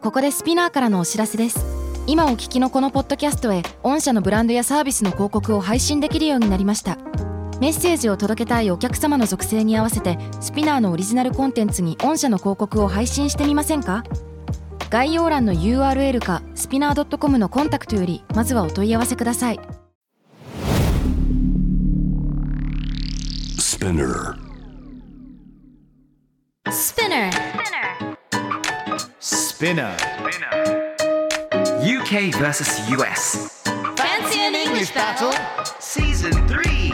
ここでスピナーからのお知らせです。今お聞きのこのポッドキャストへ御社のブランドやサービスの広告を配信できるようになりました。メッセージを届けたいお客様の属性に合わせてスピナーのオリジナルコンテンツに御社の広告を配信してみませんか？概要欄の URL かスピナー .com のコンタクトよりまずはお問い合わせください。 Spinner UK vs US Fancy an English battle? Season 3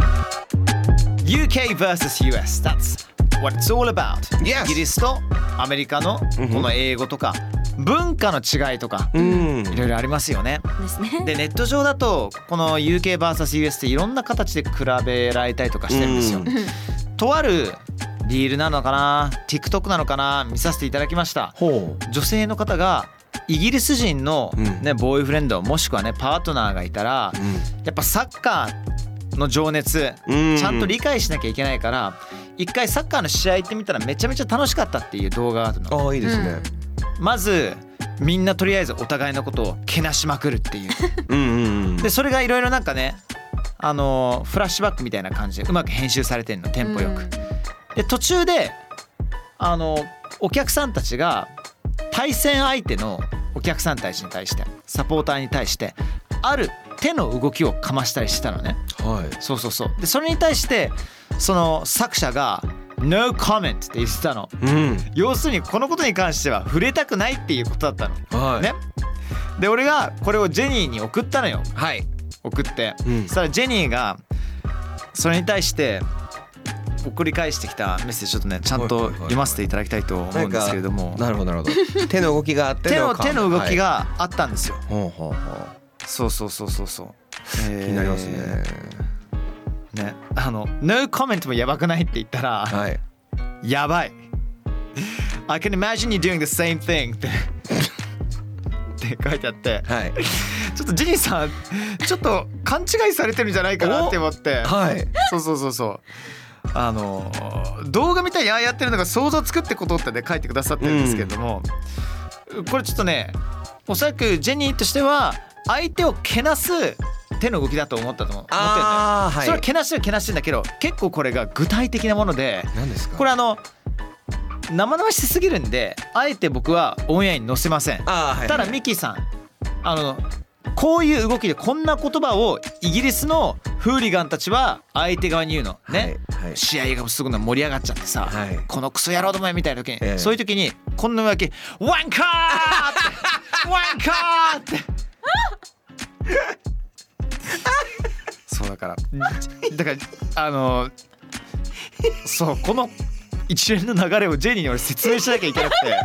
UK vs US That's what it's all about、 Yes. イギリスとアメリカのこの英語とか、文化の違いとか、いろいろありますよね。 ですね。 でネット上だとこの UK vs US っていろんな形で比べられたりとかしてるんですよ。とあるリールなのかな TikTok なのかな見させていただきました。女性の方がイギリス人の、ねボーイフレンドもしくはねパートナーがいたら、やっぱサッカーの情熱、ちゃんと理解しなきゃいけないから一回サッカーの試合行ってみたらめちゃめちゃ楽しかったっていう動画があるの。 あ、いいですね。 まずみんなとりあえずお互いのことをけなしまくるっていうでそれがいろいろなんかねフラッシュバックみたいな感じでうまく編集されてんの、テンポよく。で途中でお客さんたちが対戦相手のお客さんたちに対してサポーターに対してある手の動きをかましたりしたのね。そうそうそう。でそれに対してその作者がNo comment って言ってたの、要するにこのことに関しては触れたくないっていうことだったの、ね。で俺がこれをジェニーに送ったのよ。送って、そしたらジェニーがそれに対して送り返してきたメッセージちょっとねちゃんと読ませていただきたいと思うんですけれども。 なるほどなるほど。手の動きがあって手の動きがあったんですよ。そうそうそうそうそう。 気になりますね。 ね、No comment もやばくないって言ったら、やばい I can imagine you doing the same thing って書いてあって、ちょっとジニーさんちょっと勘違いされてるんじゃないかなって思って、そうそうそうそう、動画見たらやってるのが想像つくってことってね書いてくださってるんですけれども、これちょっとねおそらくジェニーとしては相手をけなす手の動きだと思ったと思ってるんだよ。それはけなしてんだけど結構これが具体的なもので、これ生々しすぎるんであえて僕はオンエアに載せません。ただミキさんこういう動きでこんな言葉をイギリスのフーリガンたちは相手側に言うのね、試合がすごく盛り上がっちゃってさ、このクソ野郎どもみたいな時に、そういう時にこんなわけワンカーってワンカーってそうだからそうこの一連の流れをジェニーに俺説明しなきゃいけなくて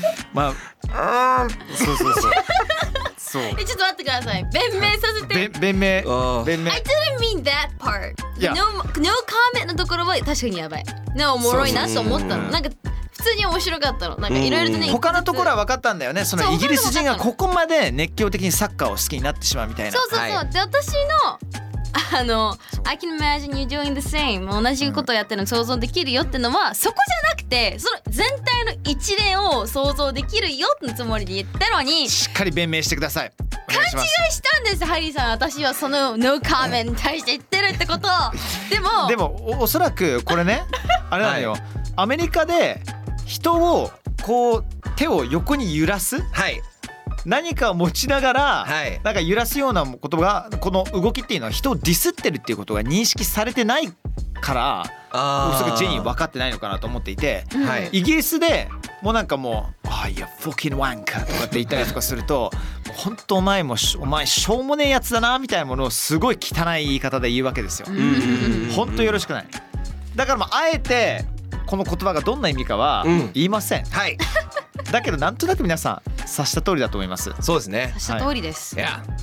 そうそうそうそう。 ちょっと待ってください。弁明させて。 弁明。I didn't mean that part. No comment のところは確かにやばい。おもろいなと思ったの。なんか普通に面白かったの。なんかいろいろとね。 他のところは分かったんだよね。そのイギリス人がここまで熱狂的にサッカーを好きになってしまうみたいな。 そうそうそう。で私のI can imagine you doing the same 同じことをやってるの想像できるよってのはそこじゃなくてその全体の一連を想像できるよってつもりで言ったのにしっかり弁明してください。 勘違いしたんですハリーさん。私はその No comment に対して言ってるってことでもおそらくこれねあれなのよ、アメリカで人をこう手を横に揺らす、何かを持ちながら、なんか揺らすようなことがこの動きっていうのは人をディスってるっていうことが認識されてないからおそらくジェニー分かってないのかなと思っていて、イギリスでもうなんかもう「いやフォッキンワンカ」とかって言ったりとかすると本当お前しょうもねえやつだなみたいなものをすごい汚い言い方で言うわけですよ。本当よろしくない。だからあえてこの言葉がどんな意味かは言いません。だけどなんとなく皆さん察した通りだと思います。 そうですね。 察した通りです。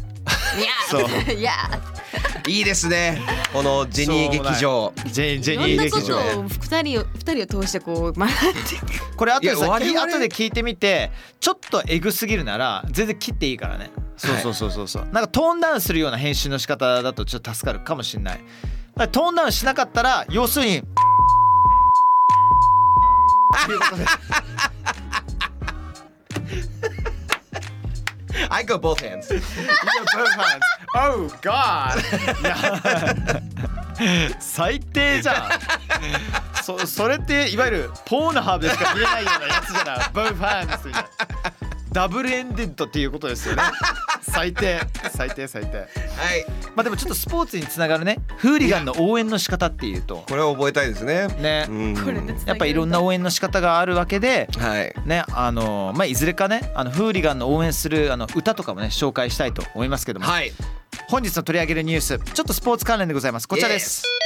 いいですね。このジェニー劇場。 ジェニー劇場。 二人を通してこう学んで。 これ後で聞いてみてちょっとエグすぎるなら全然切っていいからね。そうなんかトーンダウンするような編集の仕方だとちょっと助かるかもしれない。トーンダウンしなかったら要するにということで I go both hands. You go both hands. Oh God. 最低じゃん。それっていわゆるポーノハーブでしか見れないようなやつじゃない。both hands みたいな。ダブルエンデッドっていうことですよね。最低。 はい。 まあでもちょっとスポーツにつながるね、フーリガンの応援の仕方っていうとこれを覚えたいですね。 ね、 これでやっぱりいろんな応援の仕方があるわけで、 はい。 ね、まあいずれかね、フーリガンの応援する歌とかもね紹介したいと思いますけども、 はい。 本日の取り上げるニュース、ちょっとスポーツ関連でございます。こちらです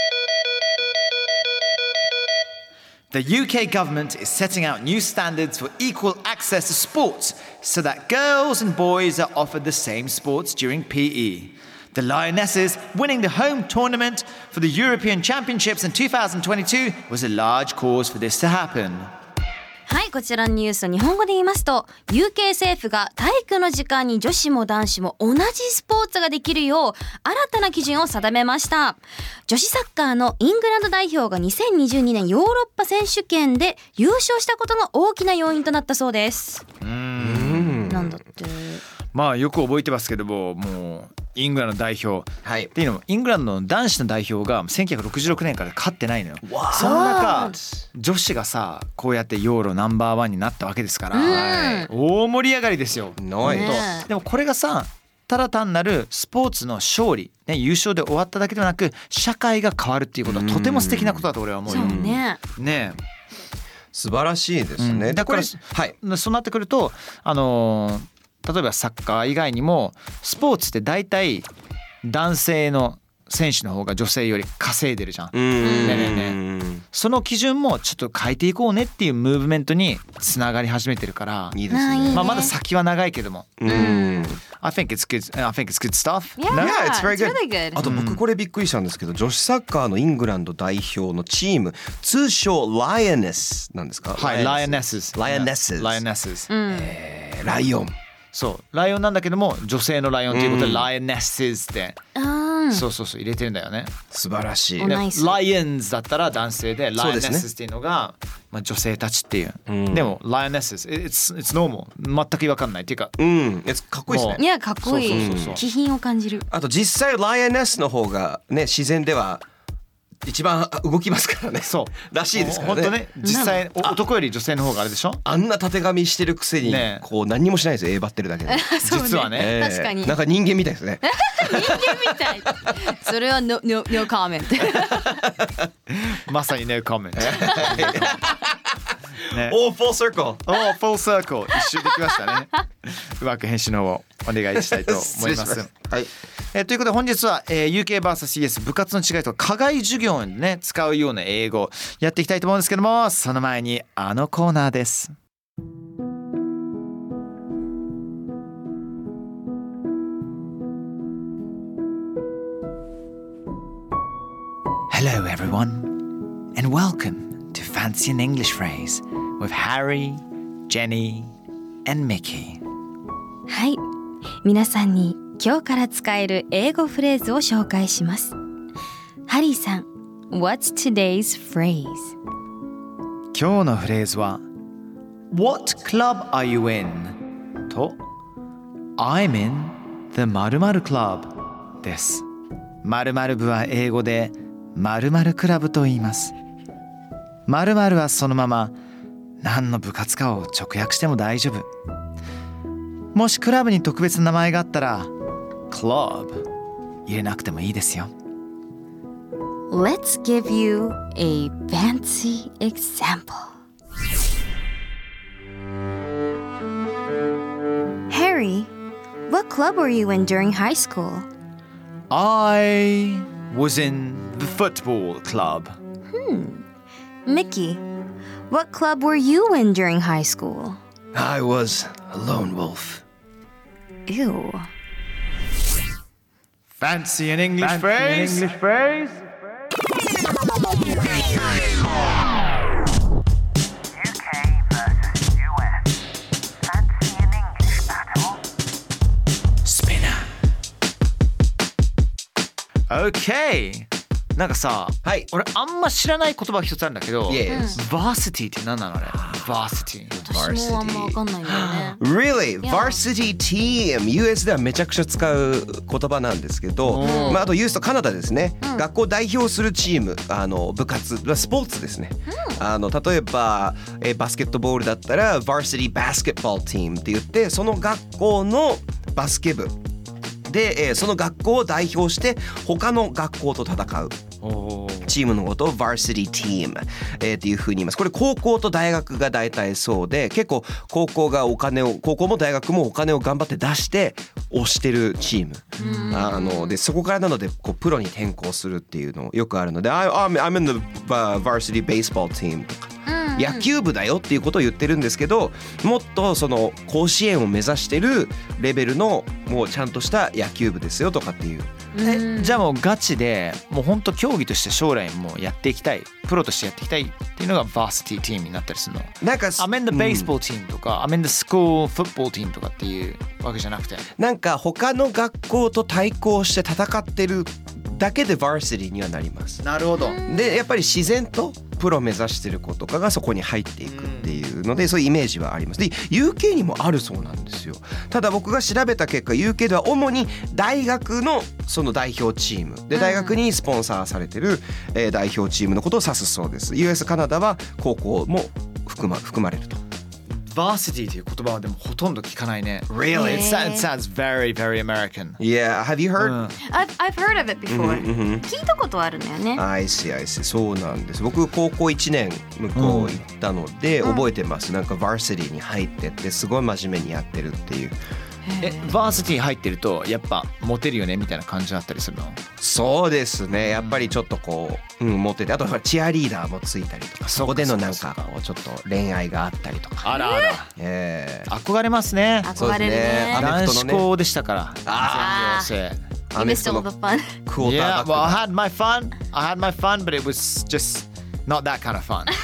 。The UK government is setting out new standards for equal access to sports so that girls and boys are offered the same sports during PE. The Lionesses winning the home tournament for the European Championships in 2022 was a large cause for this to happen. はい、こちらのニュースを日本語で言いますと UK 政府が体育の時間に女子も男子も同じスポーツができるよう新たな基準を定めました。女子サッカーのイングランド代表が2022年ヨーロッパ選手権で優勝したことが大きな要因となったそうです。なんだってまあよく覚えてますけども、もうイングランド代表、はい、っていうのもイングランドの男子の代表が1966年から勝ってないのよ。その中女子がさこうやってヨーロナンバーワンになったわけですから、大盛り上がりですよ。でもこれがさただ単なるスポーツの勝利、ね、優勝で終わっただけではなく社会が変わるっていうことはとても素敵なことだと俺は思うよ。 そうね。 ねえ素晴らしいですね。 だからはい、そうなってくると例えばサッカー以外にもスポーツって大体男性の選手の方が女性より稼いでるじゃん。ね。その基準もちょっと変えていこうねっていうムーブメントにつながり始めてるから。 いいですね。 まあまだ先は長いけども。I think it's good. I think it's good stuff. Yeah, it's very good. あと僕これびっくりしたんですけど、女子サッカーのイングランド代表のチーム通称ライオネスなんですか？ はい、ライオネス。 ライオネス。ライオン。 そうライオンなんだけども女性のライオンということでライオネスってそう入れてるんだよね。 素晴らしい。 ライオンズだったら男性でライオネスっていうのがまあ女性たちっていう、でもライオネス it's normal 全く違和感ないっていうか、 かっこいいですね。 いやかっこいい。気品を感じる。 あと実際ライオネスの方がね自然では一番動きますからね。そうらしいですからね。 本当ね、実際男より女性の方があれでしょ。 あんなたてがみしてるくせにこう何にもしないですよ。バってるだけで。 実はね、 確かになんか人間みたいですね。 人間みたい。それは no comment。 まさに no comment。 full circle。 full circle。一周できましたね。うまく編集の方をお願いしたいと思います。はい。ということで本日は、UK vs.CS 部活の違いと課外授業にね使うような英語やっていきたいと思うんですけども、その前にあのコーナーです。Hello everyone and welcome to Fancy an English Phrase with Harry, Jenny and Mickey。 はい、皆さんに今日から使える英語フレーズを紹介します。ハリーさん、What's today's phrase？ 今日のフレーズは What club are you in? と I'm in the〇〇 club です。〇〇部は英語で〇〇クラブと言います。〇〇はそのまま何の部活かを直訳しても大丈夫。もしクラブに特別な名前があったらClub 入れなくてもいいですよ。 Let's give you a fancy example. Harry, what club were you in during high school? I was in the football club. Mickey, what club were you in during high school? I was a lone wolf. Ew. Fancy an English phrase? UK versus US. Fancy an English battle? Spinner. Okay. なんかさ、俺あんま知らない言葉一つあるんだけど、Varsity って何なのあれ？Varsity。 私もあんま分かんないんだよね。 Really? Yeah. Varsity team US ではめちゃくちゃ使う言葉なんですけど、あとユースとカナダですね、学校を代表するチーム、部活、スポーツですね、例えば、バスケットボールだったら Varsity Basketball Team って言って、その学校のバスケ部で、その学校を代表して他の学校と戦うチームのことを Varsity Team、っていう風に言います。これ高校と大学が大体そうで、結構高校も大学もお金を頑張って出して推してるチーム、でそこからなのでこうプロに転向するっていうのよくあるので、I'm in the Varsity Baseball Team とか。野球部だよっていうことを言ってるんですけど、もっとその甲子園を目指してるレベルのもうちゃんとした野球部ですよとかっていう。 じゃあもうガチでもう本当競技として将来もやっていきたい、プロとしてやっていきたいっていうのが Varsity Team になったりするの。 なんか I'm in the baseball team とか、I'm in the school football team とかっていうわけじゃなくて、 なんか他の学校と対抗して戦ってるだけで Varsity にはなります。 なるほど。 でやっぱり自然とプロ目指してる子とかがそこに入っていくっていうので、そういうイメージはあります。で UK にもあるそうなんですよ。ただ僕が調べた結果 UK では主に大学のその代表チームで、大学にスポンサーされてる、代表チームのことを指すそうです。 US カナダは高校も含まれると。 Varsity という言葉はでもほとんど聞かないね。 Really? It sounds very very American. Yeah, have you heard?、 I've heard of it before、聞いたことあるんだよね。 I see. そうなんです。僕高校1年向こう行ったので、覚えてます。なんか Varsity に入ってってすごい真面目にやってるっていう。 Varsity 入ってるとやっぱモテるよねみたいな感じだったりするの？ そうですね。やっぱりちょっとこう、モテて、あとチアリーダーもついたりとか、そこでのなんかこうちょっと恋愛があったりとか。 あらあら、憧れますね。 憧れるね。 男子校でしたから。 You missed all the fun. Yeah, well, I had my fun, but it was just not that kind of fun.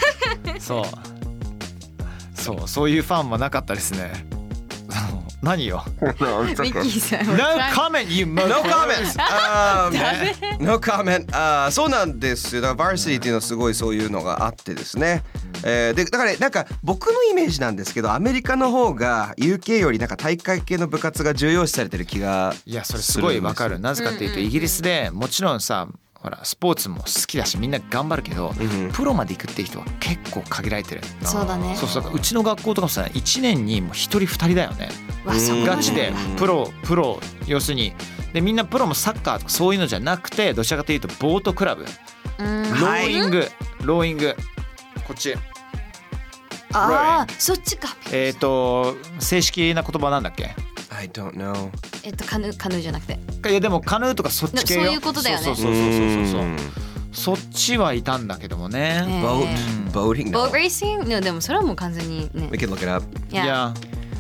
そういうファンはなかったですね。何よ。 ミッキーさん。 No comment, you No comment. No comment. そうなんですよ。だから Varsity っていうのはすごいそういうのがあってですね。でだからなんか僕のイメージなんですけど、アメリカの方が UK よりなんか大会系の部活が重要視されてる気がするんです。 いやそれすごいわかる。なぜかっていうとイギリスでもちろんさ、ほらスポーツも好きだしみんな頑張るけど、プロまで行くっていう人は結構限られてる。 そうだね。 そううちの学校とかもさ1年にもう1人2人だよね。ガチでプロ要するにでみんなプロもサッカーとかそういうのじゃなくて、どちらかというとボートクラブ、ローイングこっち。 ああそっちか。 正式な言葉なんだっけ ？I don't know. カヌーじゃなくて。 いやでもカヌーとかそっち系よ。 そういうことだよね。 そっちはいたんだけどもね。 Boating? Boat racing? でもそれはもう完全にね。 We can look it up. Yeah.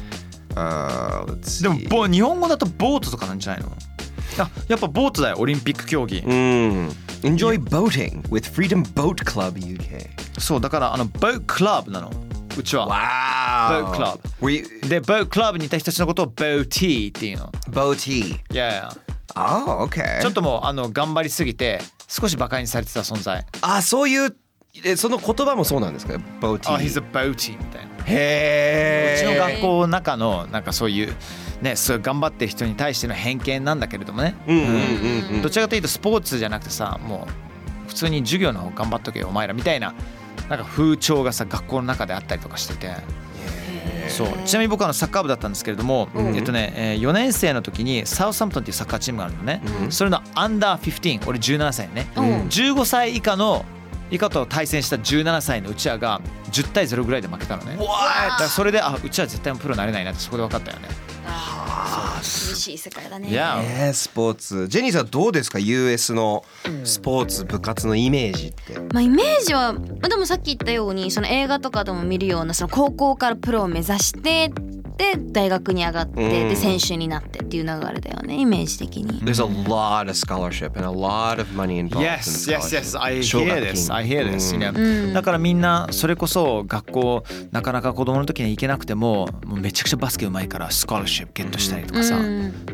Let's see. でも日本語だとボートとかなんじゃないの？やっぱボートだよ、オリンピック競技。 Enjoy boating with Freedom Boat Club UK. そうだからboat club なの。うちは。 Wow. Boat club。でboat club にいた人たちのことを boatie っていうの。 Boatie. Yeah. Oh, okay. ちょっともう頑張りすぎて少し馬鹿にされてた存在。 そういうその言葉もそうなんですか？ Boatie. He's a boatie みたいな。 へうちの学校の中のなんかそういうね、そういう頑張ってる人に対しての偏見なんだけれどもね。どちらかというとスポーツじゃなくてさ、もう普通に授業の方頑張っとけよお前らみたいななんか風潮がさ学校の中であったりとかしてて。そうちなみに僕はサッカー部だったんですけれども、4年生の時にサウサンプトンっていうサッカーチームがあるのね。それのアンダー15、俺17歳ね、15歳以下と対戦した17歳のうちらが10対0ぐらいで負けたのね。だからそれでうちら絶対プロになれないなってそこで分かったよね。 厳しい世界だね。 スポーツ。ジェニーさんどうですか？ US のスポーツ部活のイメージって。 イメージはでもさっき言ったようにその映画とかでも見るようなその高校からプロを目指してで大学に上がってで選手になってっていう流れだよね、イメージ的に。 There's a lot of scholarship and a lot of money involved. Yes. I hear this. だからみんなそれこそ学校なかなか子供の時に行けなくてもめちゃくちゃバスケうまいからスコラシップゲットしたりとかさ、ね。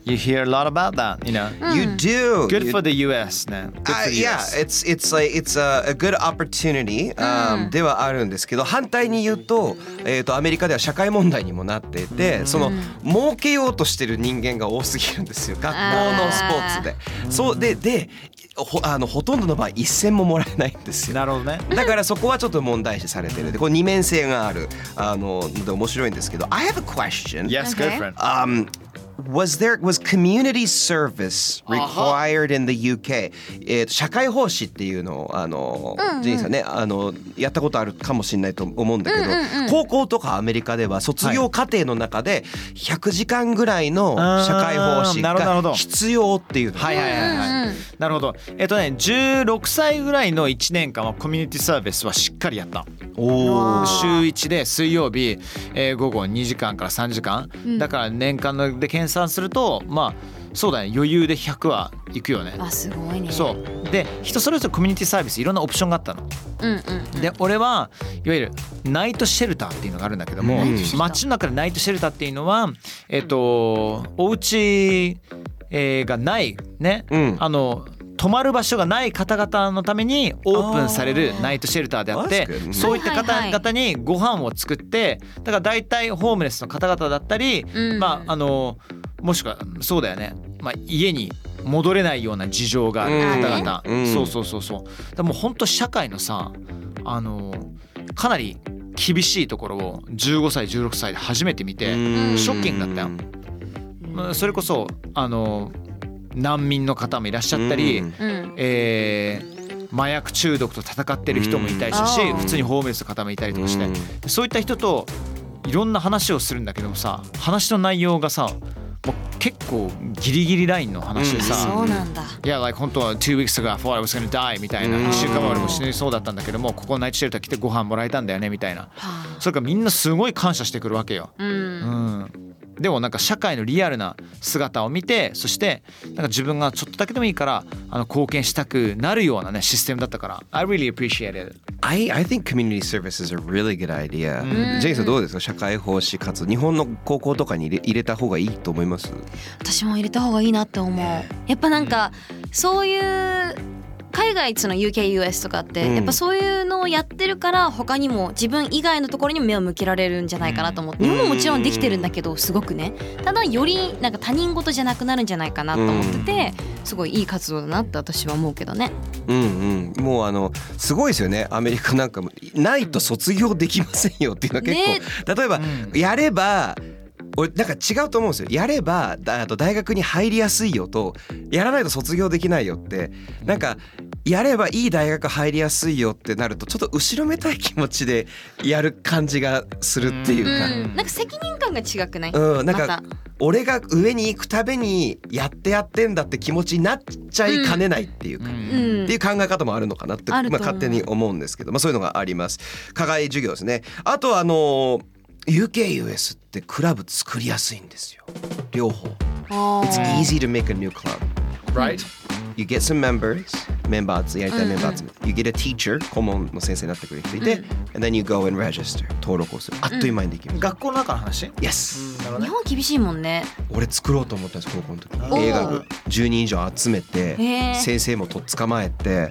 You hear a lot about that, you know. You do. Good You- for the US ね。Good for the Yeah, US. it's a good opportunity、ではあるんですけど、反対に言うと、アメリカでは社会問題にもなっていて、その儲けようとしてる人間が多すぎるんですよ。学校のスポーツで。そうでほとんどの場合一銭ももらえないんですよ。 なるほどね。 だからそこはちょっと問題視されてる。で、これ二面性があるので面白いんですけど。I have a question. Yes, go Okay. for it. Was community service required in the UK? 社会奉仕っていうのをジェインさんねやったことあるかもしれないと思うんだけど、高校とかアメリカでは卒業課程の中で100時間ぐらいの社会奉仕が必要っていうの。 はいはいはいはい。なるほど。16歳ぐらいの1年間はコミュニティサービスはしっかりやった。週1で水曜日、午後2時間から3時間、だから年間ので計算するとまあそうだね、余裕で100は行くよね。 あ、すごいね。 そうで、人それぞれコミュニティサービスいろんなオプションがあったの。で俺はいわゆるナイトシェルターっていうのがあるんだけども、街の中でナイトシェルターっていうのはお家がないね、泊まる場所がない方々のためにオープンされるナイトシェルターであって、そういった方々にご飯を作って、だから大体ホームレスの方々だったり、まあもしくはそうだよね、まあ、家に戻れないような事情がある方々、そうでも本当社会のさかなり厳しいところを15歳16歳で初めて見てショッキングだったよ。それこそ難民の方もいらっしゃったり、麻薬中毒と戦ってる人もいたりしたし、普通にホームレスの方もいたりとかして、そういった人といろんな話をするんだけどもさ、話の内容がさもう結構ギリギリラインの話でさ、 そうなんだ。 いや、like 本当は2 weeks ago I thought I was gonna die みたいな、1週間前俺も死にそうだったんだけども、ここナイトシェルター来てご飯もらえたんだよねみたいな、それからみんなすごい感謝してくるわけよ。でもなんか社会のリアルな姿を見て、そしてなんか自分がちょっとだけでもいいから貢献したくなるようなねシステムだったから、 I really appreciate it. I think community service is a really good idea. ジェインさんどうですか、社会奉仕活動日本の高校とかに入れた方がいいと思います？ 私も入れた方がいいなって思う。やっぱなんかそういう海外その UK、US とかってやっぱそういうのをやってるから他にも自分以外のところにも目を向けられるんじゃないかなと思って、日本ももちろんできてるんだけどすごくね、ただよりなんか他人事じゃなくなるんじゃないかなと思ってて、すごいいい活動だなって私は思うけどね。 もうすごいですよね。アメリカなんかもないと卒業できませんよっていうのは結構、例えばやれば俺なんか違うと思うんですよ。やれば大学に入りやすいよと、やらないと卒業できないよって、なんかやればいい大学入りやすいよってなるとちょっと後ろめたい気持ちでやる感じがするっていうか、 なんか責任感が違くない？ なんか俺が上に行くためにやってんだって気持ちになっちゃいかねないっていうか、っていう考え方もあるのかなって、勝手に思うんですけど、そういうのがあります。課外授業ですね。あとUK、US ってクラブ作りやすいんですよ。両方。It's easy to make a new club. Right? You get some members, メンバーズやりたいメンバーズ。You get a teacher, 顧問の先生になってくれる人いて、and then you go and register. 登録をする。あっという間にできる。 学校の中の話？ Yes. 日本厳しいもんね。 俺作ろうと思ったんです高校の時。映画部10人以上集めて、先生もとっ捕まえて、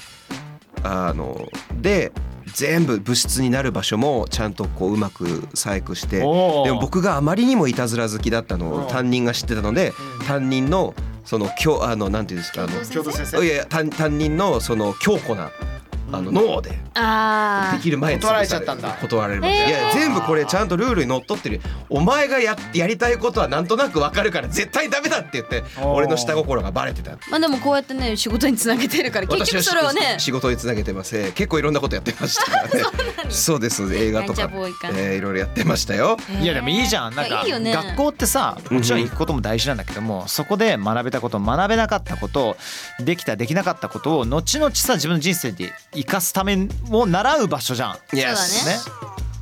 で全部部室になる場所もちゃんとこううまく細工して、でも僕があまりにもいたずら好きだったのを担任が知ってたので、担任のそのなんていうんですか、 教頭先生。 いや担任のその強固なノーでできる前に断られちゃったんだ。 断られました。いや全部これちゃんとルールにのっとってる。お前がやりたいことはなんとなくわかるから絶対ダメだって言って俺の下心がバレてた。 まあでもこうやってね仕事につなげてるから結局それはね仕事につなげてます。結構いろんなことやってましたからね。そうです、映画とかいろいろやってましたよ。 いやでもいいじゃん。なんか学校ってさ、もちろん行くことも大事なんだけども、そこで学べたこと学べなかったこと、できたできなかったことを後々さ自分の人生で生かすためを習う場所じゃん。 Yes. そうだね。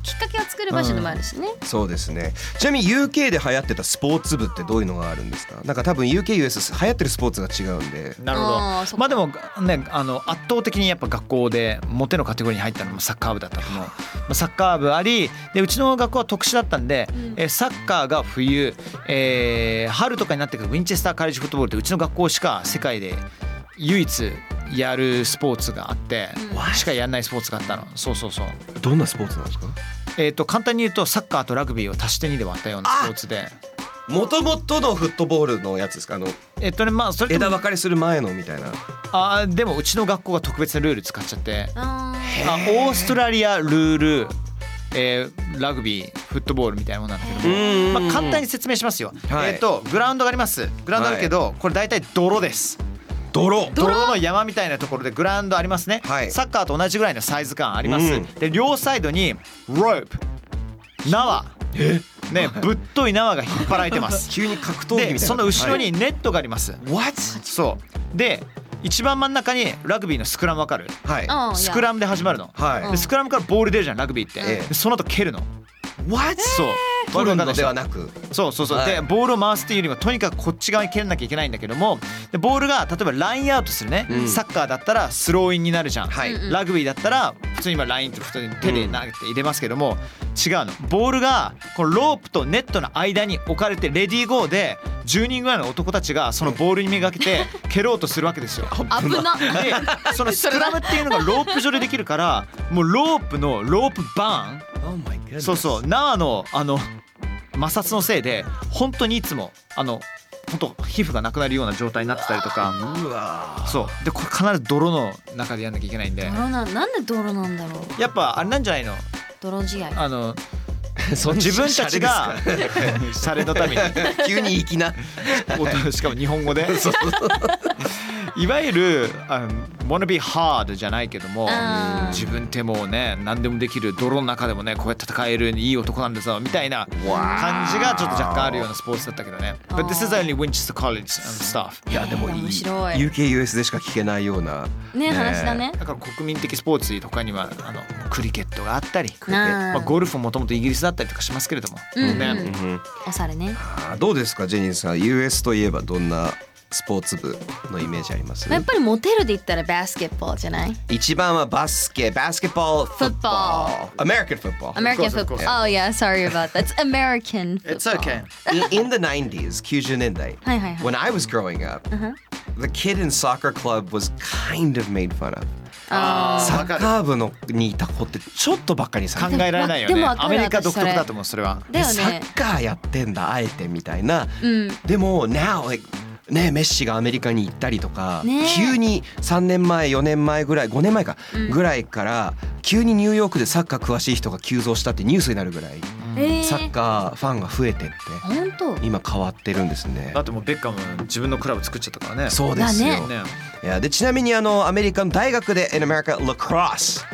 きっかけを作る場所でもあるしね、 そうですね。ちなみに UK で流行ってたスポーツ部ってどういうのがあるんですか？なんか多分 UK、US 流行ってるスポーツが違うんで。 なるほど。まあでもね、圧倒的にやっぱ学校でモテのカテゴリーに入ったのもサッカー部だったと思う。サッカー部ありで、うちの学校は特殊だったんで、サッカーが冬、春とかになってくるウィンチェスターカレッジフットボールってうちの学校しか世界で唯一やるスポーツがあって、しかやんないスポーツがあったの。そうそうそう。 どんなスポーツなんですか？ 簡単に言うとサッカーとラグビーを足して2で割ったようなスポーツで、 もともとのフットボールのやつですか？ まあそれ枝分かれする前のみたいな。 でもうちの学校が特別なルール使っちゃって、オーストラリアルール、ラグビーフットボールみたいなものなんだけども、まあ、簡単に説明しますよ、グラウンドがあります。グラウンドあるけど、これ大体泥です。泥の山みたいなところでグラウンドありますね、サッカーと同じぐらいのサイズ感あります、で両サイドにロープ縄ね、ぶっとい縄が引っ張られてます急に格闘技みたいな。 でその後ろにネットがあります、そうで一番真ん中にラグビーのスクラムわかる？スクラムで始まるの、でスクラムからボール出るじゃんラグビーって、でその後蹴るの。そう取るのではなく、 そうでボールを回すっていうよりもとにかくこっち側に蹴らなきゃいけないんだけども、でボールが例えばラインアウトするね、サッカーだったらスローインになるじゃん、ラグビーだったら普通に今ラインって普通に手で投げて入れますけども、違うの。ボールがこのロープとネットの間に置かれてレディーゴーで10人ぐらいの男たちがそのボールにめがけて蹴ろうとするわけですよ。 危な。 でそのスクラムっていうのがロープ上でできるから、もうロープバーン、そう縄の摩擦のせいで本当にいつも本当皮膚がなくなるような状態になってたりとか。そうでこれ必ず泥の中でやんなきゃいけないんで。 なんで泥なんだろう。 やっぱあれなんじゃないの？ 泥試合。 自分たちがシャレのために急に粋なしかも日本語でいわゆるwanna be hard じゃないけども、自分ってもうね何でもできる、泥の中でもねこうやって戦えるいい男なんだぞみたいな感じがちょっと若干あるようなスポーツだったけどね。But this is only Winchester College and stuff。 いやでもいい UK、US でしか聞けないような話だね。 だから国民的スポーツとかにはクリケットがあったり、まあ、ゴルフもともとイギリスだったりとかしますけれども、 おしゃれね。 どうですかジェニーさん、 US といえばどんなスポーツ部のイメージあります？ やっぱりモテるで言ったらバスケットボールじゃない？ 一番はバスケットボール、フットボール、American football. American football. Oh yeah, sorry about that. It's American football. It's okay. In the 90s, 90年代, when I was growing up, the kid in soccer club was kind of made fun of. サッカー部にいた子ってちょっとばっかりさ考えられないよね。アメリカ独特だと思うそれは。 だよね。 サッカーやってんだあえてみたいな。でも now likeね、メッシがアメリカに行ったりとか、急に3年前4年前ぐらい5年前かぐらいから急にニューヨークでサッカー詳しい人が急増したってニュースになるぐらいサッカーファンが増えてって今変わってるんですね。 だってもうベッカム自分のクラブ作っちゃったからね。 そうですよ、いやでちなみにアメリカの大学で in America lacrosse is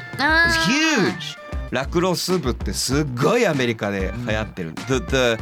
huge。 ラクロス部ってすっごいアメリカで流行ってる。The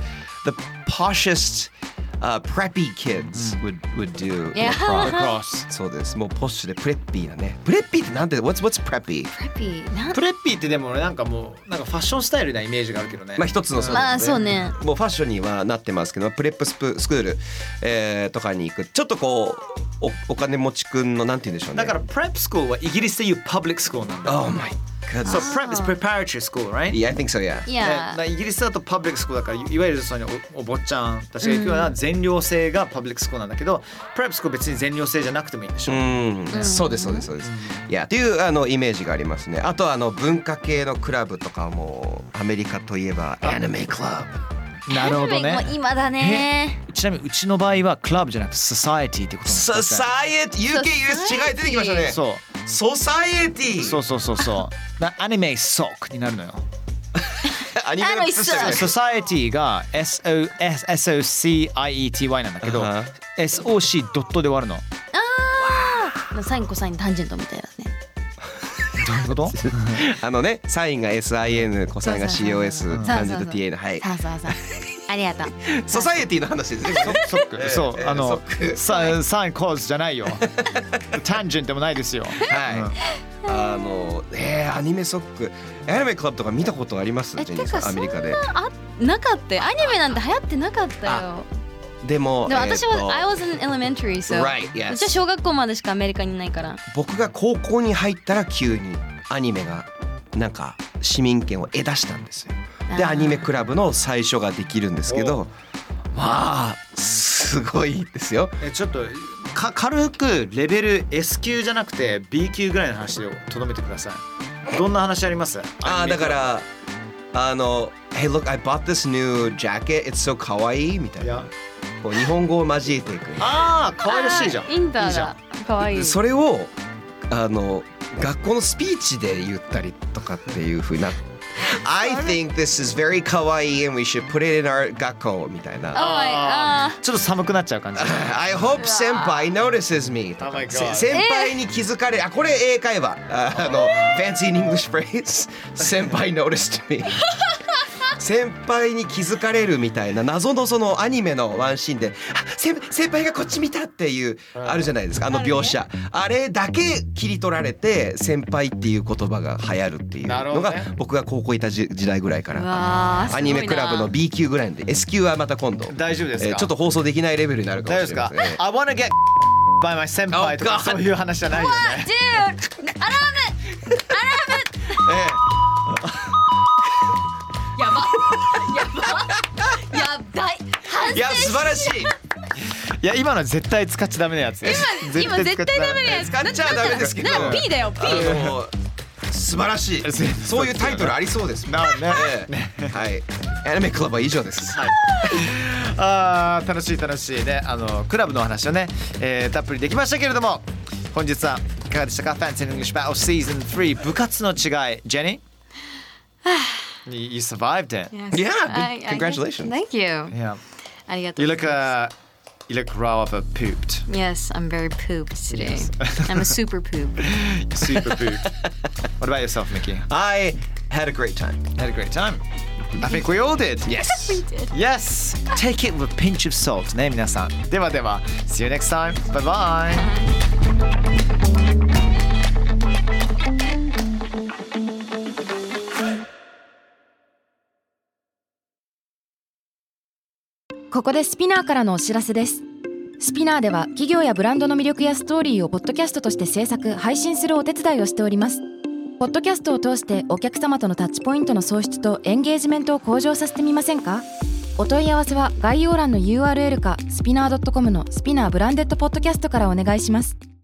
poshest、preppy kids would do lacrosse。 そうです。もうポッシュでプレッピーなね。プレッピーってなんて what's preppy？ プレッピーってでもなんかもうなんかファッションスタイルなイメージがあるけどね。 まあ一つのそうね。 もうファッションにはなってますけど、プレップスクール、とかに行くちょっとこう お金持ちくんのなんて言うんでしょうね。 だからプレップスクールはイギリスでいうパブリックスクールなんだ。 Oh my So prep is preparatory school, right? Yeah, I think so, yeah. イギリスだとパブリックスクールだからいわゆるその お坊ちゃんたちが行くような全寮制がパブリックスクールなんだけど、プレップスクール別に全寮制じゃなくてもいいんでしょ。 そうです。いやというイメージがありますね。あと文化系のクラブとかもアメリカといえばアニメクラブ。 なるほどね。 今だね。 ちなみにうちの場合はクラブじゃなくてソサエティってことなんです。 ソサエティ UK、US 違い出てきましたね。 そう。 ソサエティ。 そう。アニメソックになるのよ。 アニメの靴下みたいな。 ソサエティが SOCIETY なんだけど、SOC ドットで終わるの。 サインコサインタンジェントみたいなね。 どういうこと？ サインが SIN、コサインが COS、タンジェント TA のはい。 そう。ありがとう。 ソサエティの話ですね。 ソック。そうサインコースじゃないよ。タンジェントもないですよ。 はい。 アニメソックアニメクラブとか見たことあります？ジェニーさんアメリカで。 なかったよ。アニメなんて流行ってなかったよ。 でも私は、I was in elementary, so Right, yes. 私は小学校までしかアメリカにいないから。 僕が高校に入ったら急にアニメがなんか市民権を得出したんですよ。でアニメクラブの最初ができるんですけど、まあすごいですよ。 ちょっと軽くレベル S 級じゃなくて B 級ぐらいの話でとどめてください。どんな話あります？ だからHey look, I bought this new jacket. It's so 可愛いみたいな。こう日本語を交えていく。 可愛らしいじゃん。 インターが可愛い。 それを学校のスピーチで言ったりとかっていう風な。I think this is very 可愛い and we should put it in our 学校みたいな。 ちょっと寒くなっちゃう感じ。 I hope 先輩 notices me とか。先輩に気づかれ、これ英会話。fancy English phrase 先輩 noticed me 先輩に気づかれるみたいな謎のそのアニメのワンシーンで先輩がこっち見たっていうあるじゃないですか、描写。あれだけ切り取られて先輩っていう言葉が流行るっていうのが僕が高校いた時代ぐらいからアニメクラブの B 級ぐらいで S 級はまた今度大丈夫ですか？ ちょっと放送できないレベルになるかもしれません。 大丈夫ですか？ I wanna get by my 先輩とかそういう話じゃないよね。 Dude, I love it.やばい。 いや素晴らしい。 いや今の絶対使っちゃダメなやつ。 今絶対ダメなやつ。 使っちゃダメですけど。 P だよ P。 素晴らしい。そういうタイトルありそうです。 なるね。 はい。アニメクラブは以上です。 楽しいね。クラブの話をね、たっぷりできましたけれども、本日はいかがでしたか？ Fancy English Battle Season 3部活の違い。ジェニー？You survived it. Yeah, congratulations. Thank you. Yeah. ありがとう。 You look rather pooped. Yes, I'm very pooped today. I'm a super poop. Super pooped. What about yourself, Mickey? I had a great time. Had a great time. I think we all did. Yes. We did. Yes. Take it with a pinch of salt. ね、皆さん。ではでは。See you next time. Bye bye. ここでスピナーからのお知らせです。スピナーでは企業やブランドの魅力やストーリーをポッドキャストとして制作・配信するお手伝いをしております。ポッドキャストを通してお客様とのタッチポイントの創出とエンゲージメントを向上させてみませんか？お問い合わせは概要欄の URL かスピナー .com のスピナーブランデッドポッドキャストからお願いします。